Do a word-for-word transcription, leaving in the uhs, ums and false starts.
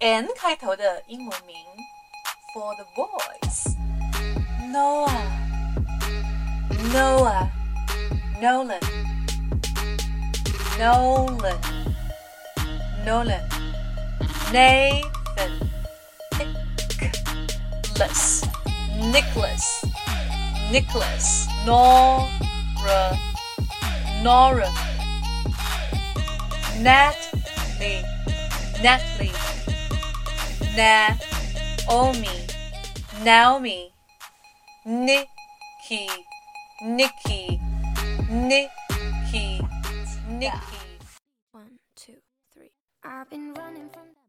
N 开头的英文名 for the boys. Noah, Noah, Nolan, Nolan, Nolan, Nathan, Nicholas, Nicholas, Nicholas, Nora, Nora, Natalie, Natalie, Naomi, Naomi, Nikki, Nikki, Nikki, Nikki. One, two, three. I've been running from